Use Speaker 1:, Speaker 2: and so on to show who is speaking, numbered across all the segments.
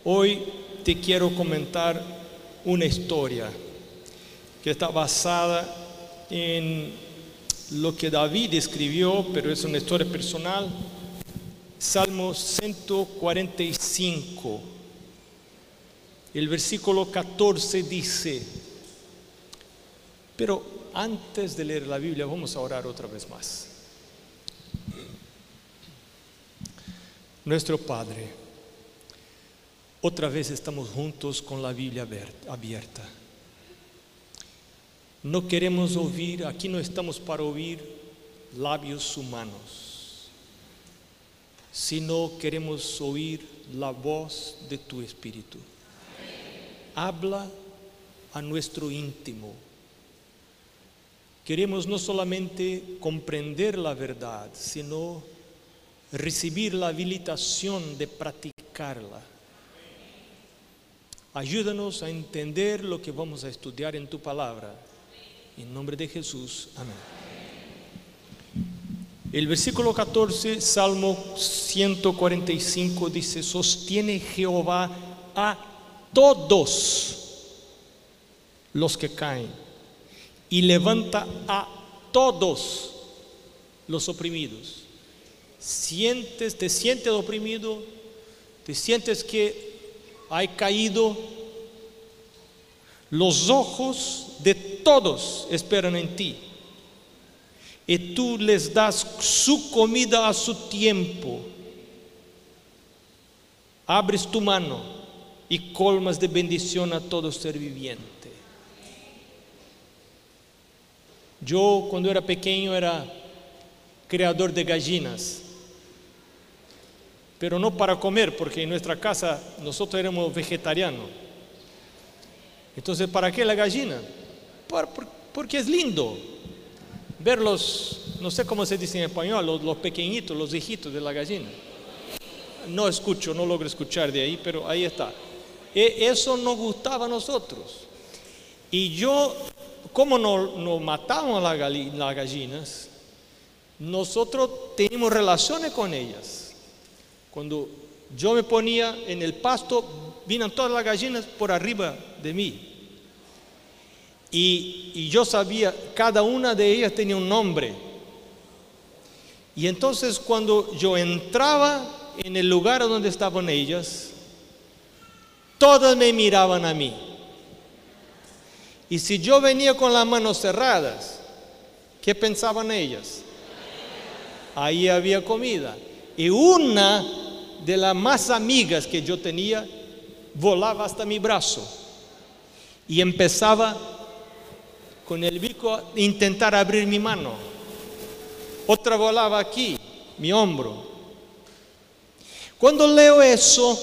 Speaker 1: Hoy te quiero comentar una historia que está basada en lo que David escribió, pero es una historia personal. Salmo 145, el versículo 14 dice, pero antes de leer la Biblia vamos a orar otra vez más. Nuestro Padre, otra vez estamos juntos con la Biblia abierta. No queremos oír, aquí no estamos para oír labios humanos, sino queremos oír la voz de tu Espíritu. Habla a nuestro íntimo. Queremos no solamente comprender la verdad, sino recibir la habilitación de practicarla. Ayúdanos a entender lo que vamos a estudiar en tu palabra. En nombre de Jesús, amén. El versículo 14, Salmo 145 dice, sostiene Jehová a todos los que caen y levanta a todos los oprimidos. Te sientes oprimido, te sientes que hay caído. Los ojos de todos esperan en ti, y tú les das su comida a su tiempo. Abres tu mano y colmas de bendición a todo ser viviente. Yo cuando era pequeño era criador de gallinas, pero no para comer, porque en nuestra casa nosotros éramos vegetarianos. Entonces, ¿para qué la gallina? Porque es lindo verlos, no sé cómo se dice en español, los pequeñitos, los hijitos de la gallina. No logro escuchar de ahí, pero ahí está. Eso nos gustaba a nosotros. Y yo, como no matábamos las gallinas, nosotros teníamos relaciones con ellas. Cuando yo me ponía en el pasto, vinieron todas las gallinas por arriba de mí. Y yo sabía, cada una de ellas tenía un nombre. Y entonces cuando yo entraba en el lugar donde estaban ellas, todas me miraban a mí. Y si yo venía con las manos cerradas, ¿qué pensaban ellas? Ahí había comida. Y una de las más amigas que yo tenía volaba hasta mi brazo y empezaba con el bico a intentar abrir mi mano. Otra volaba aquí, mi hombro. Cuando leo eso,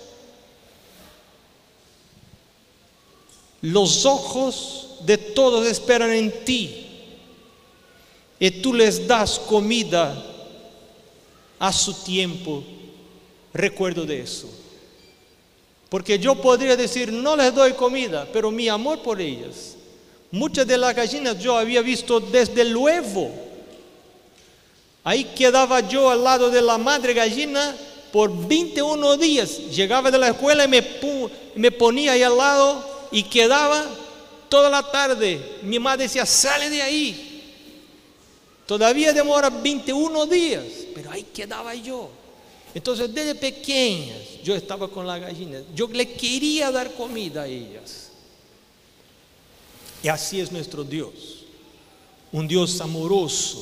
Speaker 1: los ojos de todos esperan en ti y tú les das comida a su tiempo. Recuerdo de eso, porque yo podría decir no les doy comida, pero mi amor por ellas, muchas de las gallinas yo había visto desde el huevo. Ahí quedaba yo al lado de la madre gallina por 21 días. Llegaba de la escuela y me ponía ahí al lado y quedaba toda la tarde. Mi madre decía, sale de ahí. Todavía demora 21 días, pero ahí quedaba yo. Entonces desde pequeñas yo estaba con las gallinas. Yo le quería dar comida a ellas. Y así es nuestro Dios. Un Dios amoroso,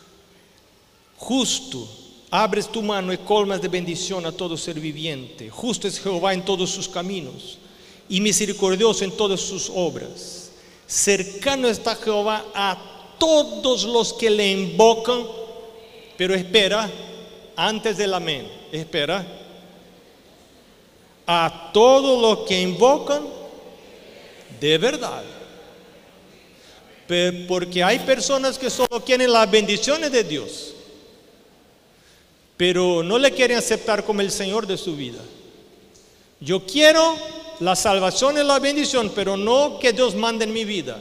Speaker 1: justo. Abres tu mano y colmas de bendición a todo ser viviente. Justo es Jehová en todos sus caminos y misericordioso en todas sus obras. Cercano está Jehová a todos los que le invocan. Pero espera, antes del amén, espera. A todos los que invocan de verdad. Porque hay personas que solo quieren las bendiciones de Dios, pero no le quieren aceptar como el Señor de su vida. Yo quiero la salvación y la bendición, pero no que Dios mande en mi vida.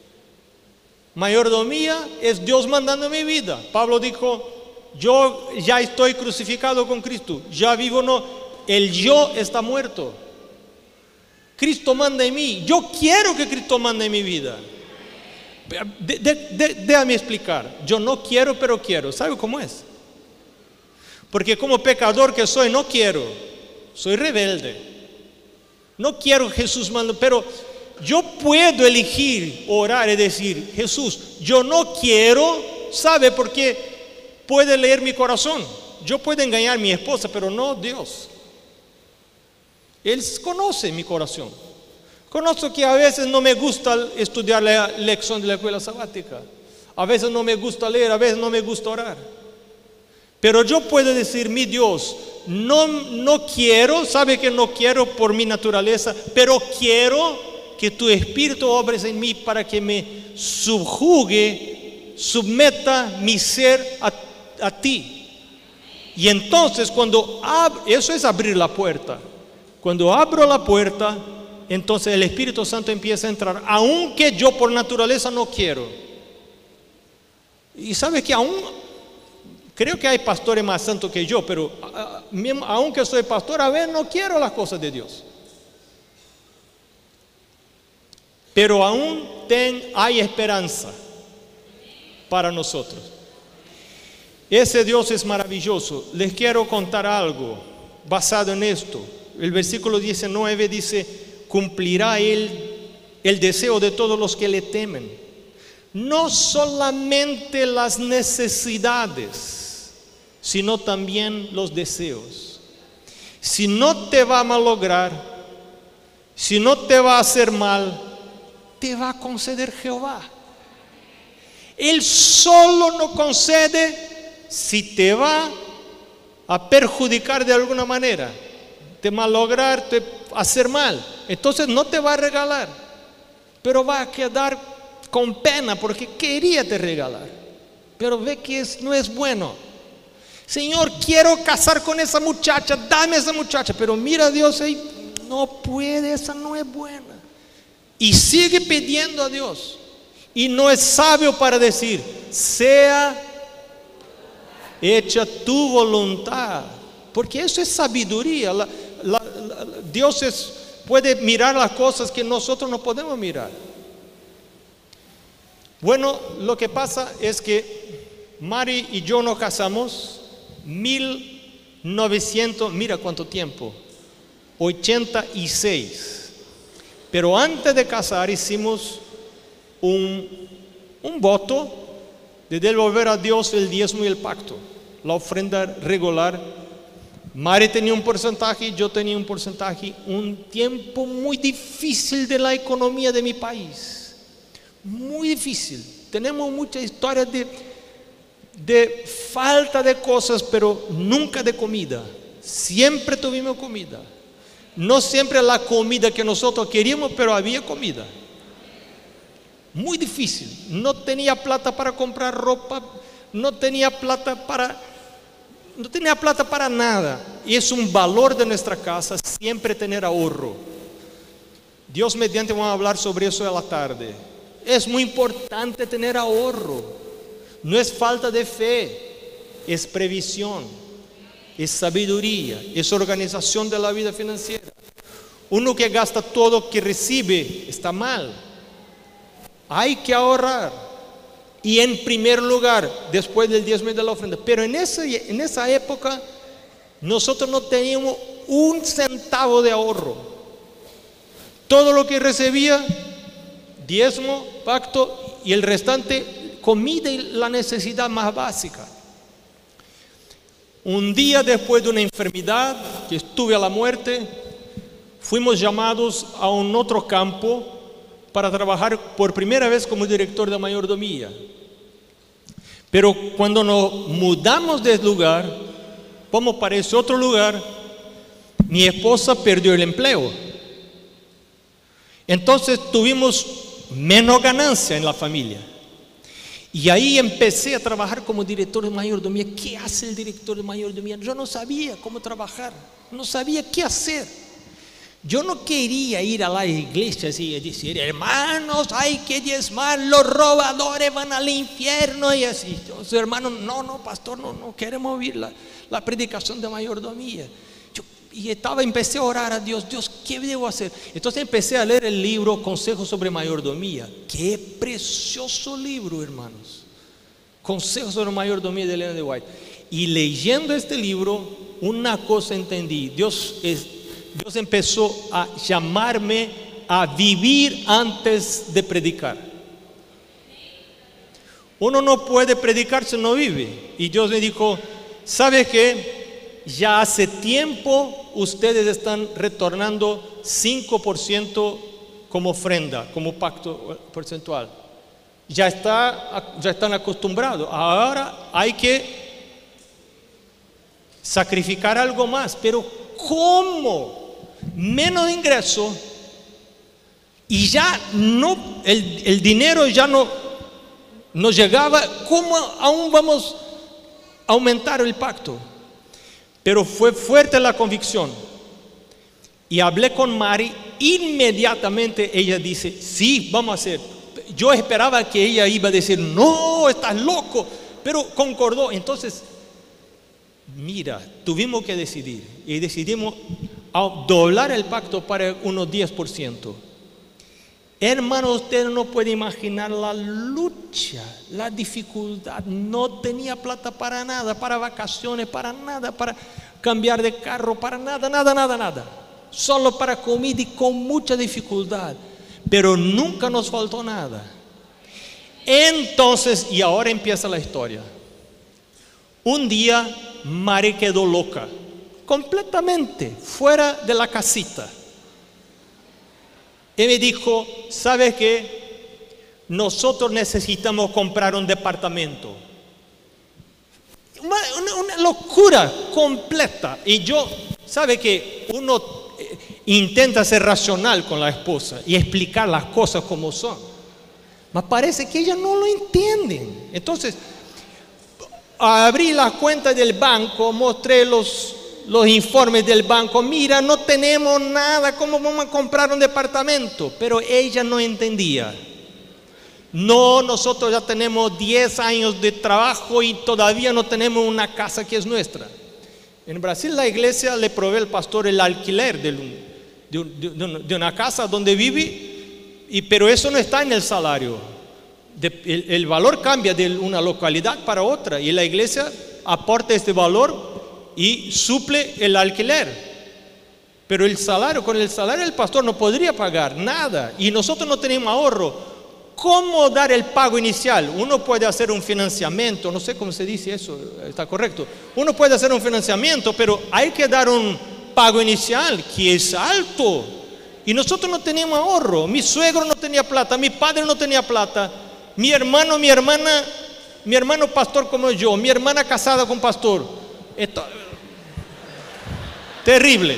Speaker 1: Mayordomía es Dios mandando en mi vida. Pablo dijo, yo ya estoy crucificado con Cristo, ya vivo no, el yo está muerto. Cristo manda en mí. Yo quiero que Cristo mande en mi vida. Déjame explicar. Yo no quiero, pero quiero. ¿Sabe cómo es? Porque como pecador que soy, no quiero. Soy rebelde. No quiero que Jesús mande, pero yo puedo elegir orar y decir: Jesús, yo no quiero. ¿Sabe por qué? Puede leer mi corazón. Yo puedo engañar a mi esposa, pero no Dios. Él conoce mi corazón. Conozco que a veces no me gusta estudiar la lección de la escuela sabática. A veces no me gusta leer, a veces no me gusta orar. Pero yo puedo decir: mi Dios, no quiero, sabe que no quiero por mi naturaleza, pero quiero que tu Espíritu obres en mí para que me subjugue, submeta mi ser a ti. Y entonces eso es abrir la puerta. Cuando abro la puerta, entonces el Espíritu Santo empieza a entrar, aunque yo por naturaleza no quiero. Y sabe que creo que hay pastores más santos que yo, pero aunque soy pastor, a veces no quiero las cosas de Dios. Pero aún hay esperanza para nosotros. Ese Dios es maravilloso. Les quiero contar algo basado en esto. El versículo 19 dice: cumplirá Él el deseo de todos los que le temen. No solamente las necesidades, sino también los deseos. Si no te va a malograr, si no te va a hacer mal, te va a conceder Jehová. Él solo no concede si te va a perjudicar de alguna manera, te malograr, te hacer mal. Entonces no te va a regalar, pero va a quedar con pena porque quería te regalar, pero ve que no es bueno. Señor, quiero casar con esa muchacha, dame esa muchacha, pero mira a Dios ahí, no puede, esa no es buena. Y sigue pidiendo a Dios. Y no es sabio para decir: sea hecha tu voluntad, porque eso es sabiduría. Dios puede mirar las cosas que nosotros no podemos mirar. Bueno, lo que pasa es que Mari y yo nos casamos 1900, mira cuánto tiempo, 86. Pero antes de casar hicimos un voto de devolver a Dios el diezmo y el pacto, la ofrenda regular. Mari tenía un porcentaje, yo tenía un porcentaje. Un tiempo muy difícil de la economía de mi país, muy difícil. Tenemos muchas historias de falta de cosas, pero nunca de comida. Siempre tuvimos comida. No siempre la comida que nosotros queríamos, pero había comida. Muy difícil. No tenía plata para comprar ropa, no tenía plata para nada. Y es un valor de nuestra casa siempre tener ahorro. Dios mediante vamos a hablar sobre eso a la tarde. Es muy importante tener ahorro. No es falta de fe, es previsión, es sabiduría, es organización de la vida financiera. Uno que gasta todo que recibe está mal. Hay que ahorrar. Y en primer lugar, después del diezmo y de la ofrenda. Pero en esa época nosotros no teníamos un centavo de ahorro. Todo lo que recibía, diezmo, pacto, y el restante comida y la necesidad más básica. Un día después de una enfermedad que estuve a la muerte, fuimos llamados a un otro campo para trabajar por primera vez como director de mayordomía. Pero cuando nos mudamos del lugar, vamos para ese otro lugar, mi esposa perdió el empleo. Entonces tuvimos menos ganancia en la familia. Y ahí empecé a trabajar como director de mayordomía. ¿Qué hace el director de mayordomía? Yo no sabía cómo trabajar, no sabía qué hacer. Yo no quería ir a la iglesia y decir: hermanos, hay que diezmar, los robadores van al infierno y así. Entonces, hermanos, no, pastor, no queremos oír la predicación de mayordomía. y empecé a orar a Dios. Dios, ¿qué debo hacer? Entonces empecé a leer el libro Consejos sobre Mayordomía. Qué precioso libro, hermanos. Consejos sobre Mayordomía de Ellen White. Y leyendo este libro, una cosa entendí. Dios empezó a llamarme a vivir antes de predicar. Uno no puede predicar si no vive. Y Dios me dijo, ¿sabe qué? Ya hace tiempo ustedes están retornando 5% como ofrenda, como pacto porcentual. Ya están acostumbrados. Ahora hay que sacrificar algo más. Pero ¿cómo? Menos ingreso y ya no, el dinero ya no llegaba. ¿Cómo aún vamos a aumentar el pacto? Pero fue fuerte la convicción. Y hablé con Mari. Inmediatamente ella dice, sí, vamos a hacer. Yo esperaba que ella iba a decir, no, estás loco, pero concordó. Entonces, mira, tuvimos que decidir y decidimos doblar el pacto para unos 10%. Hermano, usted no puede imaginar la lucha, la dificultad. No tenía plata para nada, para vacaciones, para nada, para cambiar de carro, para nada. Solo para comida y con mucha dificultad. Pero nunca nos faltó nada. Entonces, y ahora empieza la historia. Un día, Mari quedó loca, completamente fuera de la casita. Y me dijo, ¿sabes qué? Nosotros necesitamos comprar un departamento. Una locura completa. Y yo, ¿sabe qué? Uno intenta ser racional con la esposa y explicar las cosas como son. Me parece que ellas no lo entienden. Entonces, abrí la cuenta del banco, mostré los informes del banco. Mira, no tenemos nada, ¿cómo vamos a comprar un departamento? Pero ella no entendía. No, nosotros ya tenemos 10 años de trabajo y todavía no tenemos una casa que es nuestra. En Brasil la iglesia le provee al pastor el alquiler de una casa donde vive, pero eso no está en el salario. El valor cambia de una localidad para otra y la iglesia aporta este valor y suple el alquiler. Pero con el salario del pastor no podría pagar nada y nosotros no tenemos ahorro. ¿Cómo dar el pago inicial? Uno puede hacer un financiamiento, no sé cómo se dice eso, está correcto. Uno puede hacer un financiamiento, pero hay que dar un pago inicial que es alto. Y nosotros no teníamos ahorro. Mi suegro no tenía plata, mi padre no tenía plata, mi hermano pastor como yo, mi hermana casada con pastor. Esto, terrible.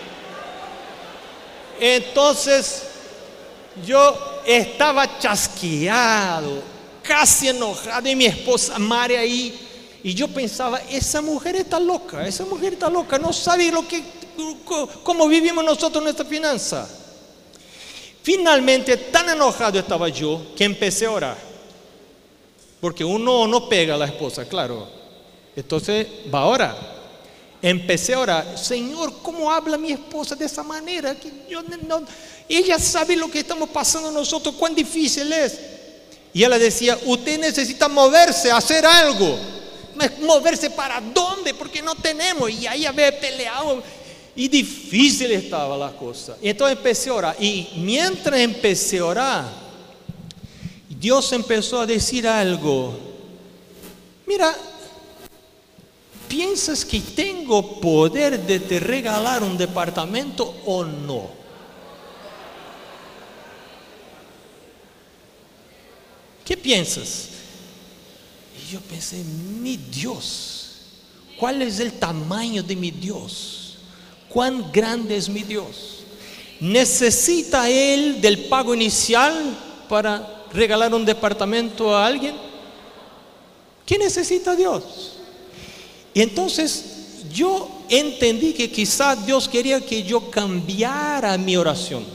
Speaker 1: Entonces, yo estaba chasqueado, casi enojado, y mi esposa Mari ahí, y yo pensaba, esa mujer está loca, no sabe cómo vivimos nosotros nuestra finanza. Finalmente, tan enojado estaba yo que empecé a orar, porque uno no pega a la esposa, claro, entonces va a orar. Empecé a orar, Señor, ¿cómo habla mi esposa de esa manera? Que ella sabe lo que estamos pasando nosotros, cuán difícil es. Y ella decía, usted necesita moverse, hacer algo. ¿Moverse para dónde? Porque no tenemos. Y ahí había peleado y difícil estaba la cosa. Y entonces empecé a orar. Y mientras empecé a orar, Dios empezó a decir algo. Mira, ¿piensas que tengo poder de te regalar un departamento o no? ¿Qué piensas? Y yo pensé, mi Dios, ¿cuál es el tamaño de mi Dios? ¿Cuán grande es mi Dios? ¿Necesita Él del pago inicial para regalar un departamento a alguien? ¿Qué necesita Dios? Y entonces yo entendí que quizás Dios quería que yo cambiara mi oración.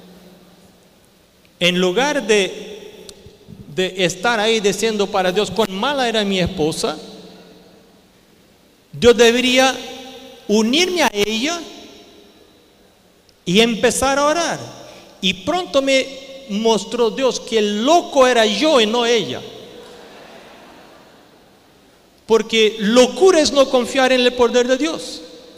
Speaker 1: En lugar de estar ahí diciendo para Dios cuán mala era mi esposa, yo debería unirme a ella y empezar a orar. Y pronto me mostró Dios que el loco era yo y no ella. Porque locura es no confiar en el poder de Dios.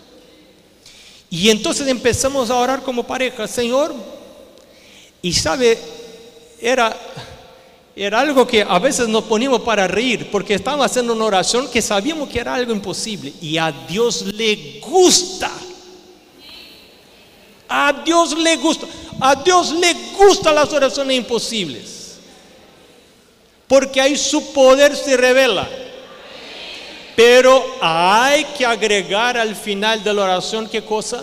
Speaker 1: Y entonces empezamos a orar como pareja, Señor. Y sabe, era algo que a veces nos poníamos para reír, porque estábamos haciendo una oración que sabíamos que era algo imposible. Y a Dios le gusta. A Dios le gusta. A Dios le gustan las oraciones imposibles, porque ahí su poder se revela. Pero hay que agregar al final de la oración, ¿qué cosa?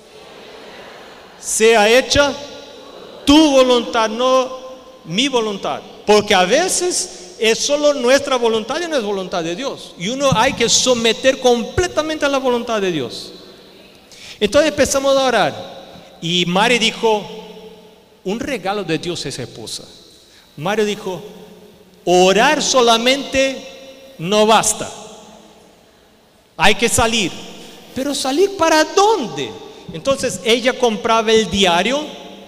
Speaker 1: Sea hecha tu voluntad, no mi voluntad. Porque a veces es solo nuestra voluntad y no es voluntad de Dios. Y uno hay que someter completamente a la voluntad de Dios. Entonces empezamos a orar. Y Mari dijo, un regalo de Dios es esposa. Mario dijo, orar solamente no basta. Hay que salir. Pero ¿salir para dónde? Entonces ella compraba el diario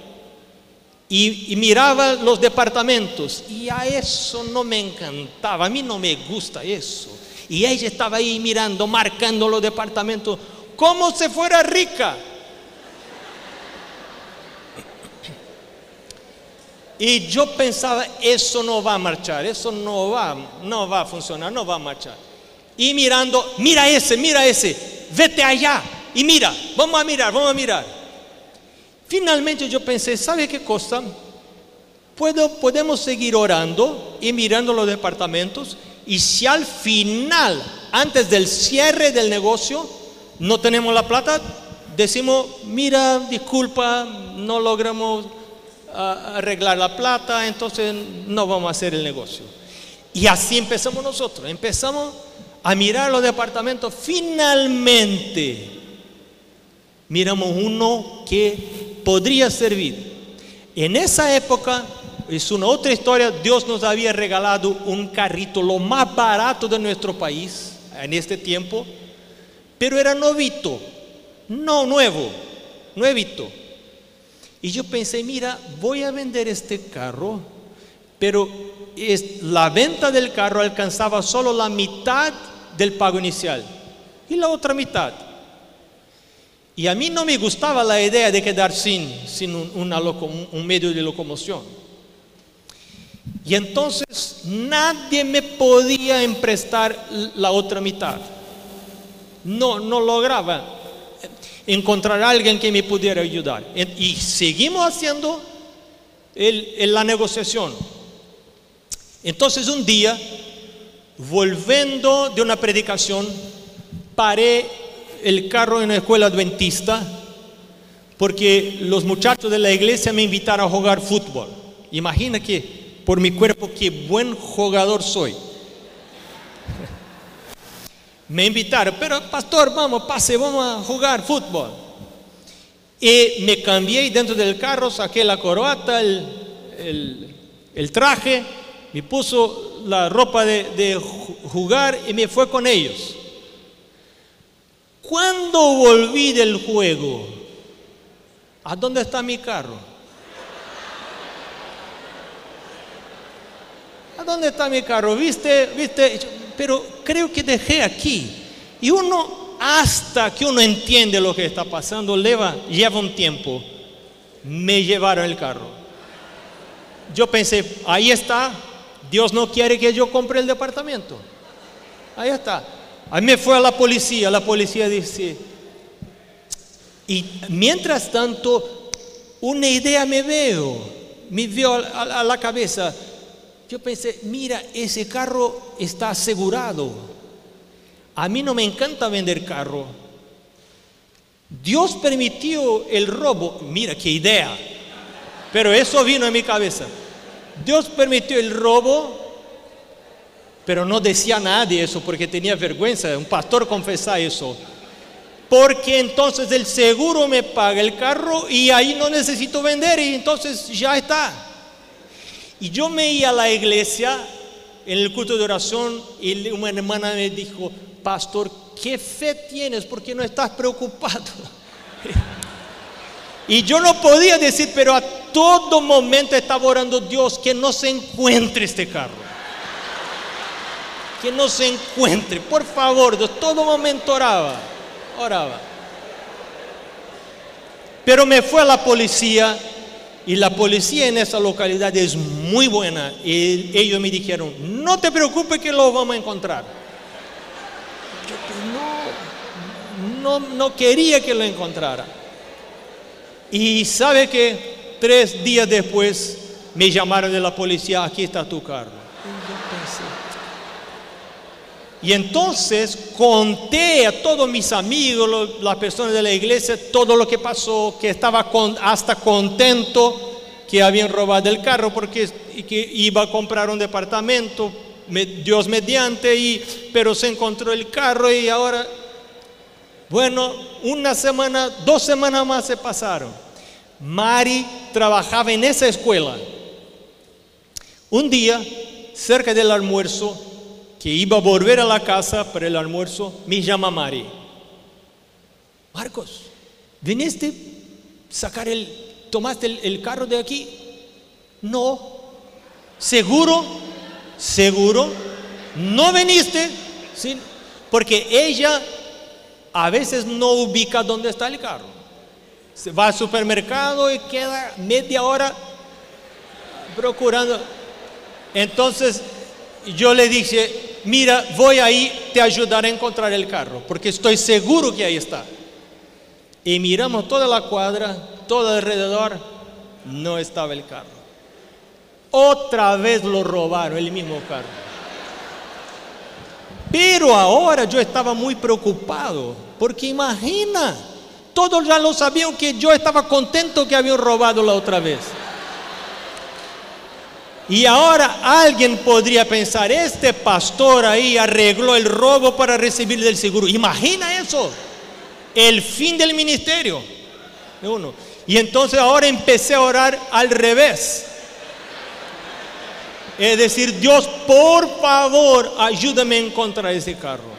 Speaker 1: y miraba los departamentos. Y a eso no me encantaba. A mí no me gusta eso. Y ella estaba ahí mirando, marcando los departamentos como si fuera rica. Y yo pensaba, eso no va a marchar, eso no va a funcionar, no va a marchar. Y mirando, mira ese, vete allá y mira, vamos a mirar. Finalmente yo pensé, ¿sabe qué cosa? Podemos seguir orando y mirando los departamentos, y si al final, antes del cierre del negocio, no tenemos la plata, decimos, mira, disculpa, no logramos arreglar la plata, entonces no vamos a hacer el negocio. Y así empezamos nosotros, empezamos a mirar los departamentos. Finalmente miramos uno que podría servir. En esa época, es una otra historia, Dios nos había regalado un carrito, lo más barato de nuestro país en este tiempo, pero era novito, no nuevito. Y yo pensé, mira, voy a vender este carro, pero la venta del carro alcanzaba solo la mitad del pago inicial y la otra mitad. Y a mí no me gustaba la idea de quedar sin un medio de locomoción. Y entonces nadie me podía emprestar la otra mitad. No lograba encontrar a alguien que me pudiera ayudar. Y seguimos haciendo la negociación. Entonces un día, volviendo de una predicación, paré el carro en una escuela adventista, porque los muchachos de la iglesia me invitaron a jugar fútbol. Imagina que por mi cuerpo, qué buen jugador soy. Me invitaron, pero pastor, vamos a jugar fútbol. Y me cambié dentro del carro, saqué la corbata, el traje, me puso la ropa de jugar y me fue con ellos. Cuando volví del juego, ¿a dónde está mi carro? ¿A dónde está mi carro? ¿Viste? Pero creo que dejé aquí. Y hasta que uno entiende lo que está pasando, lleva un tiempo. Me llevaron el carro. Yo pensé, ahí está, Dios no quiere que yo compre el departamento. Ahí está. A mí me fue a la policía dice, y mientras tanto, una idea me vio a la cabeza. Yo pensé, mira, ese carro está asegurado. A mí no me encanta vender carro. Dios permitió el robo. Mira qué idea. Pero eso vino en mi cabeza. Dios permitió el robo, pero no decía a nadie eso porque tenía vergüenza. Un pastor confesaba eso. Porque entonces el seguro me paga el carro y ahí no necesito vender y entonces ya está. Y yo me iba a la iglesia en el culto de oración y una hermana me dijo, pastor, ¿qué fe tienes? ¿Por qué no estás preocupado? Y yo no podía decir, pero a todo momento estaba orando, Dios, que no se encuentre este carro. Que no se encuentre, por favor. De todo momento oraba. Pero me fue a la policía, y la policía en esa localidad es muy buena. Y ellos me dijeron, no te preocupes que lo vamos a encontrar. Yo no quería que lo encontrara. Y sabe que 3 días después me llamaron de la policía, aquí está tu carro. Y entonces conté a todos mis amigos, las personas de la iglesia, todo lo que pasó, que estaba hasta contento que habían robado el carro porque que iba a comprar un departamento, Dios mediante, pero se encontró el carro y ahora, bueno, 1 semana, 2 semanas más se pasaron. Mari trabajaba en esa escuela. Un día, cerca del almuerzo, que iba a volver a la casa para el almuerzo, me llama Mari. Marcos, ¿viniste tomaste el carro de aquí? No. ¿Seguro? ¿No viniste? Sí. Porque ella a veces no ubica dónde está el carro. Se va al supermercado y queda media hora procurando. Entonces yo le dije, mira, voy ahí, te ayudaré a encontrar el carro, porque estoy seguro que ahí está. Y miramos toda la cuadra, todo alrededor, no estaba el carro. Otra vez lo robaron, el mismo carro. Pero ahora yo estaba muy preocupado, porque imagina, todos ya lo sabían que yo estaba contento que habían robado la otra vez. Y ahora alguien podría pensar, este pastor ahí arregló el robo para recibir del seguro. Imagina eso, el fin del ministerio de uno. Y entonces ahora empecé a orar al revés. Es decir, Dios, por favor, ayúdame a encontrar ese carro.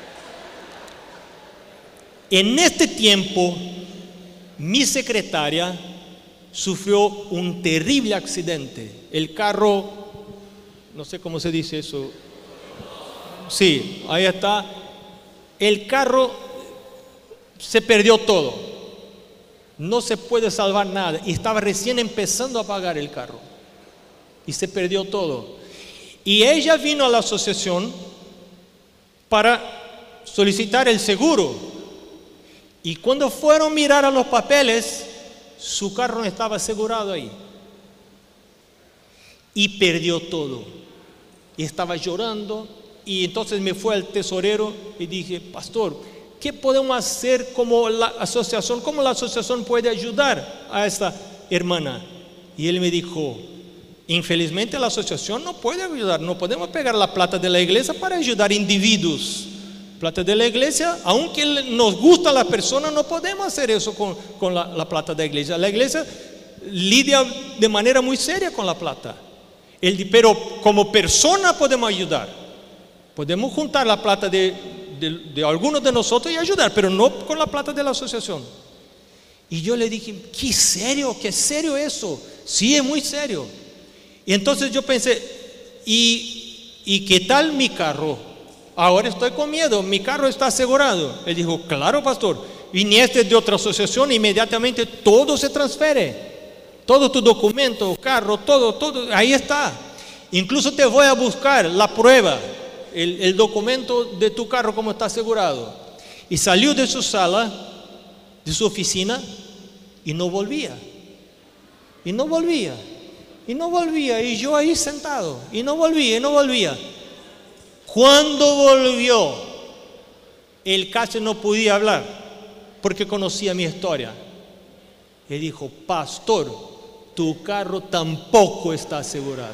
Speaker 1: En este tiempo, mi secretaria sufrió un terrible accidente. El carro, no sé cómo se dice eso. Sí, ahí está. El carro se perdió todo. No se puede salvar nada. Y estaba recién empezando a pagar el carro. Y se perdió todo. Y ella vino a la asociación para solicitar el seguro. Y cuando fueron a mirar a los papeles, su carro no estaba asegurado ahí. Y perdió todo. Y estaba llorando. Y entonces me fue al tesorero y dije, pastor, ¿qué podemos hacer como la asociación? ¿Cómo la asociación puede ayudar a esta hermana? Y él me dijo, infelizmente la asociación no puede ayudar. No podemos pegar la plata de la iglesia para ayudar individuos. Plata de la iglesia, aunque nos gusta la persona, no podemos hacer eso con la plata de la iglesia. La iglesia lidia de manera muy seria con la plata. Pero como persona podemos ayudar. Podemos juntar la plata de algunos de nosotros y ayudar, pero no con la plata de la asociación. Y yo le dije, ¿qué serio eso? Sí, es muy serio. Y entonces yo pensé, ¿y qué tal mi carro? Ahora estoy con miedo, mi carro está asegurado. Él dijo, claro, pastor, viniste de otra asociación, inmediatamente todo se transfiere. Todo tu documento, carro, todo, ahí está. Incluso te voy a buscar la prueba, el documento de tu carro como está asegurado. Y salió de su sala, de su oficina, y no volvía. Y yo ahí sentado, y no volvía. Cuando volvió, él casi no podía hablar, porque conocía mi historia. Él dijo, pastor, tu carro tampoco está asegurado.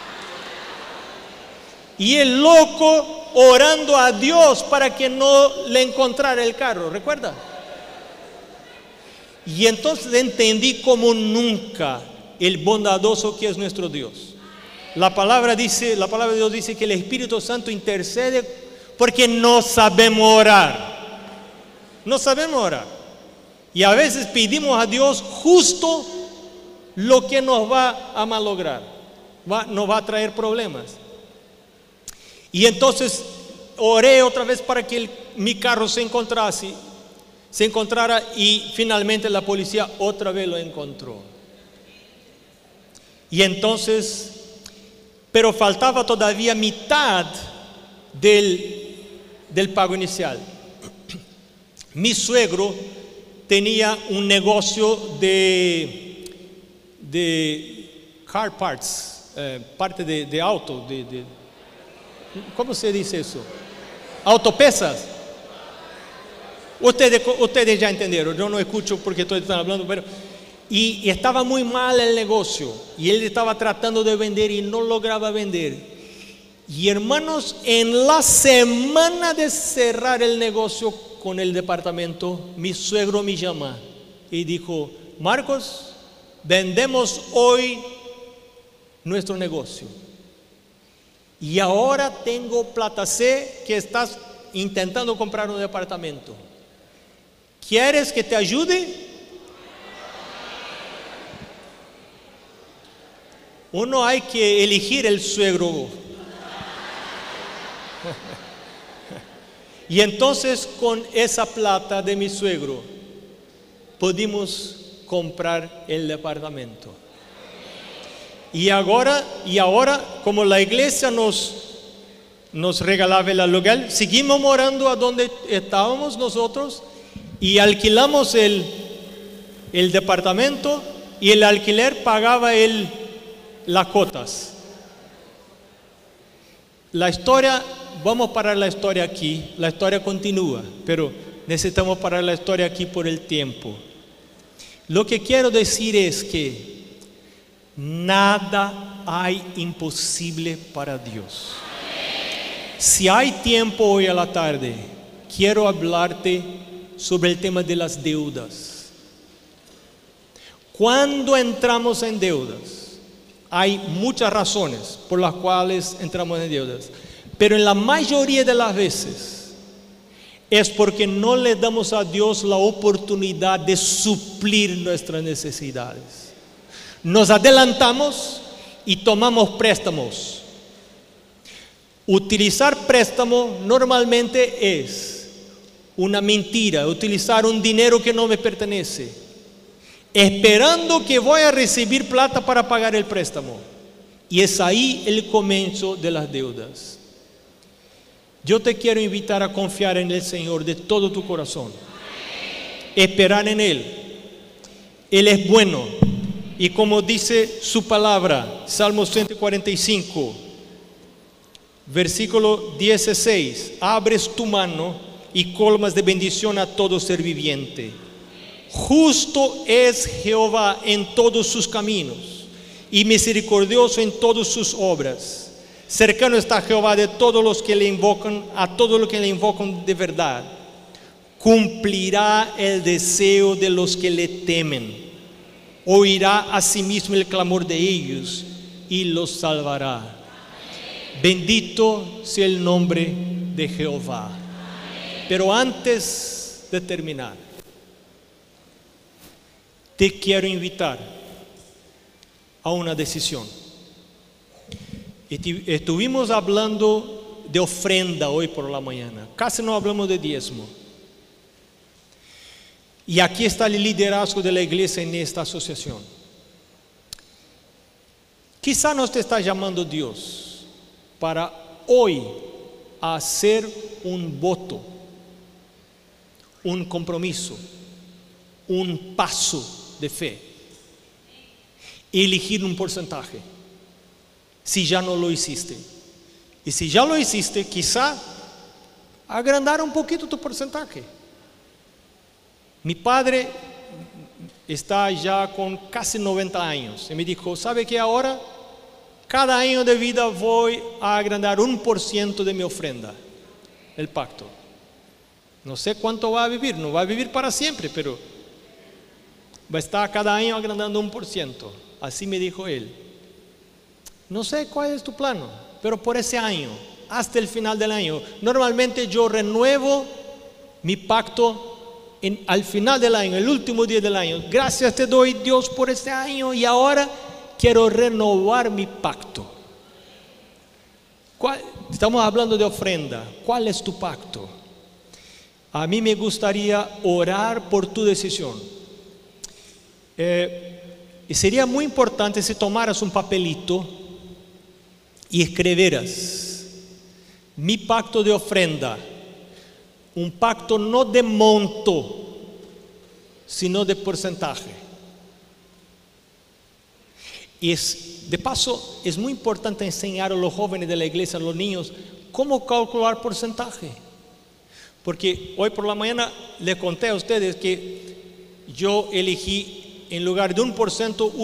Speaker 1: Y el loco orando a Dios para que no le encontrara el carro, ¿recuerda? Y entonces entendí como nunca el bondadoso que es nuestro Dios. La palabra de Dios dice que el Espíritu Santo intercede porque no sabemos orar. Y a veces pedimos a Dios justo lo que nos va a malograr, nos va a traer problemas. Y entonces oré otra vez para que mi carro se encontrara, y finalmente la policía otra vez lo encontró. Y entonces, pero faltaba todavía mitad del pago inicial. Mi suegro tenía un negocio de car parts, parte de auto, ¿cómo se dice eso? Autopeças. Ustedes ya entendieron, yo no escucho porque todos están hablando, pero y estaba muy mal el negocio, y él estaba tratando de vender y no lograba vender. Y hermanos, en la semana de cerrar el negocio con el departamento, mi suegro me llama y dijo: Marcos, vendemos hoy nuestro negocio, y ahora tengo plata, sé que estás intentando comprar un departamento, ¿quieres que te ayude? Uno hay que elegir el suegro. Y entonces con esa plata de mi suegro pudimos comprar el departamento. Y ahora como la iglesia nos regalaba el aluguel, seguimos morando a donde estábamos nosotros y alquilamos el departamento, y el alquiler pagaba las cuotas. La historia, vamos a parar la historia aquí, la historia continúa, pero necesitamos parar la historia aquí por el tiempo. Lo que quiero decir es que nada hay imposible para Dios. Si hay tiempo hoy a la tarde, quiero hablarte sobre el tema de las deudas. Cuando entramos en deudas, hay muchas razones por las cuales entramos en deudas, pero en la mayoría de las veces es porque no le damos a Dios la oportunidad de suplir nuestras necesidades. Nos adelantamos y tomamos préstamos. Utilizar préstamo normalmente es una mentira, utilizar un dinero que no me pertenece, esperando que voy a recibir plata para pagar el préstamo. Y es ahí el comienzo de las deudas. Yo te quiero invitar a confiar en el Señor de todo tu corazón, esperar en Él. Él es bueno, y como dice su palabra, Salmo 145, versículo 16: abres tu mano y colmas de bendición a todo ser viviente. Justo es Jehová en todos sus caminos, y misericordioso en todas sus obras. Cercano está Jehová de todos los que le invocan, a todos los que le invocan de verdad. Cumplirá el deseo de los que le temen. Oirá a sí mismo el clamor de ellos y los salvará. Bendito sea el nombre de Jehová. Pero antes de terminar, te quiero invitar a una decisión. Estuvimos hablando de ofrenda hoy por la mañana, casi no hablamos de diezmo. Y aquí está el liderazgo de la iglesia en esta asociación. Quizá nos te está llamando Dios para hoy hacer un voto, un compromiso, un paso de fe, elegir un porcentaje, si ya no lo hiciste. Y si ya lo hiciste, quizá agrandar un poquito tu porcentaje. Mi padre está ya con casi 90 años y me dijo: ¿sabe qué? Ahora cada año de vida voy a agrandar 1% de mi ofrenda, el pacto. No sé cuánto va a vivir, no va a vivir para siempre, pero va a estar cada año agrandando 1%. Así me dijo él. No sé cuál es tu plano, pero por ese año, hasta el final del año, normalmente yo renuevo mi pacto al final del año, el último día del año, gracias te doy, Dios, por este año, y ahora quiero renovar mi pacto. Estamos hablando de ofrenda. ¿Cuál es tu pacto? A mí me gustaría orar por tu decisión. Y sería muy importante si tomaras un papelito y escribieras: mi pacto de ofrenda. Un pacto no de monto, sino de porcentaje. Y de paso, es muy importante enseñar a los jóvenes de la iglesia, a los niños, cómo calcular porcentaje. Porque hoy por la mañana les conté a ustedes que yo elegí, en lugar de 1%,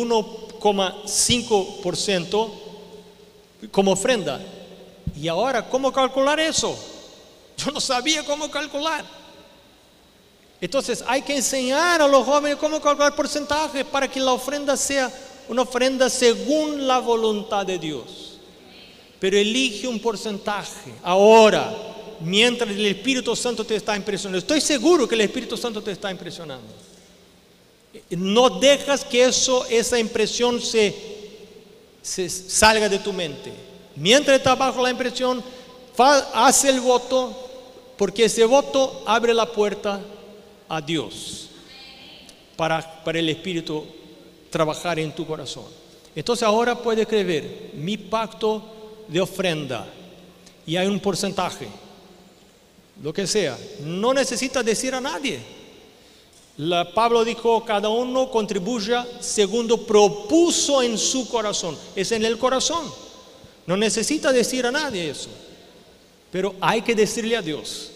Speaker 1: 1,5% como ofrenda. Y ahora, ¿cómo calcular eso? Yo no sabía cómo calcular. Entonces hay que enseñar a los jóvenes cómo calcular porcentaje para que la ofrenda sea una ofrenda según la voluntad de Dios. Pero elige un porcentaje ahora, mientras el Espíritu Santo te está impresionando. Estoy seguro que el Espíritu Santo te está impresionando. No dejas que esa impresión se salga de tu mente. Mientras estás bajo la impresión, haz el voto, porque ese voto abre la puerta a Dios para el Espíritu trabajar en tu corazón. Entonces ahora puedes escribir: mi pacto de ofrenda, y hay un porcentaje, lo que sea. No necesitas decir a nadie. Pablo dijo: cada uno contribuya según propuso en su corazón. Es en el corazón. No necesita decir a nadie eso, pero hay que decirle a Dios.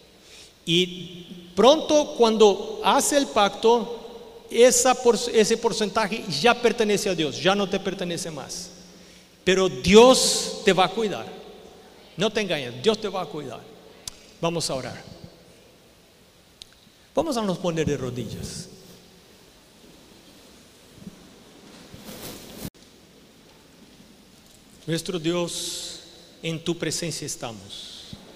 Speaker 1: Y pronto, cuando hace el pacto, ese porcentaje ya pertenece a Dios, ya no te pertenece más. Pero Dios te va a cuidar. No te engañes, Dios te va a cuidar. Vamos a orar. Vamos a nos poner de rodillas. Nuestro Dios, en tu presencia estamos.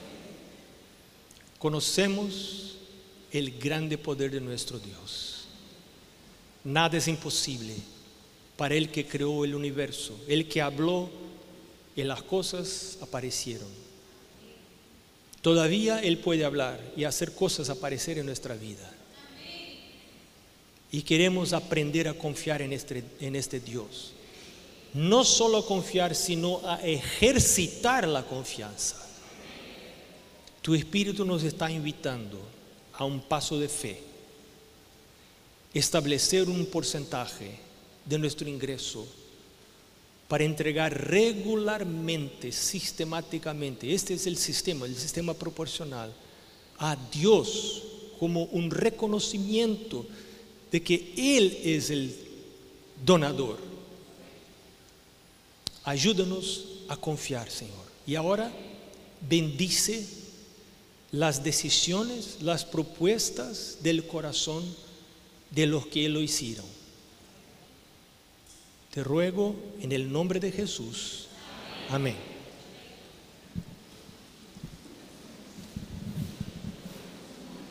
Speaker 1: Conocemos el grande poder de nuestro Dios. Nada es imposible para el que creó el universo, el que habló y las cosas aparecieron. Todavía Él puede hablar y hacer cosas aparecer en nuestra vida. Y queremos aprender a confiar en este Dios. No solo a confiar, sino a ejercitar la confianza. Tu Espíritu nos está invitando a un paso de fe. Establecer un porcentaje de nuestro ingreso para entregar regularmente, sistemáticamente, este es el sistema proporcional, a Dios como un reconocimiento de que Él es el donador. Ayúdanos a confiar, Señor. Y ahora bendice las decisiones, las propuestas del corazón de los que lo hicieron. Te ruego en el nombre de Jesús. Amén.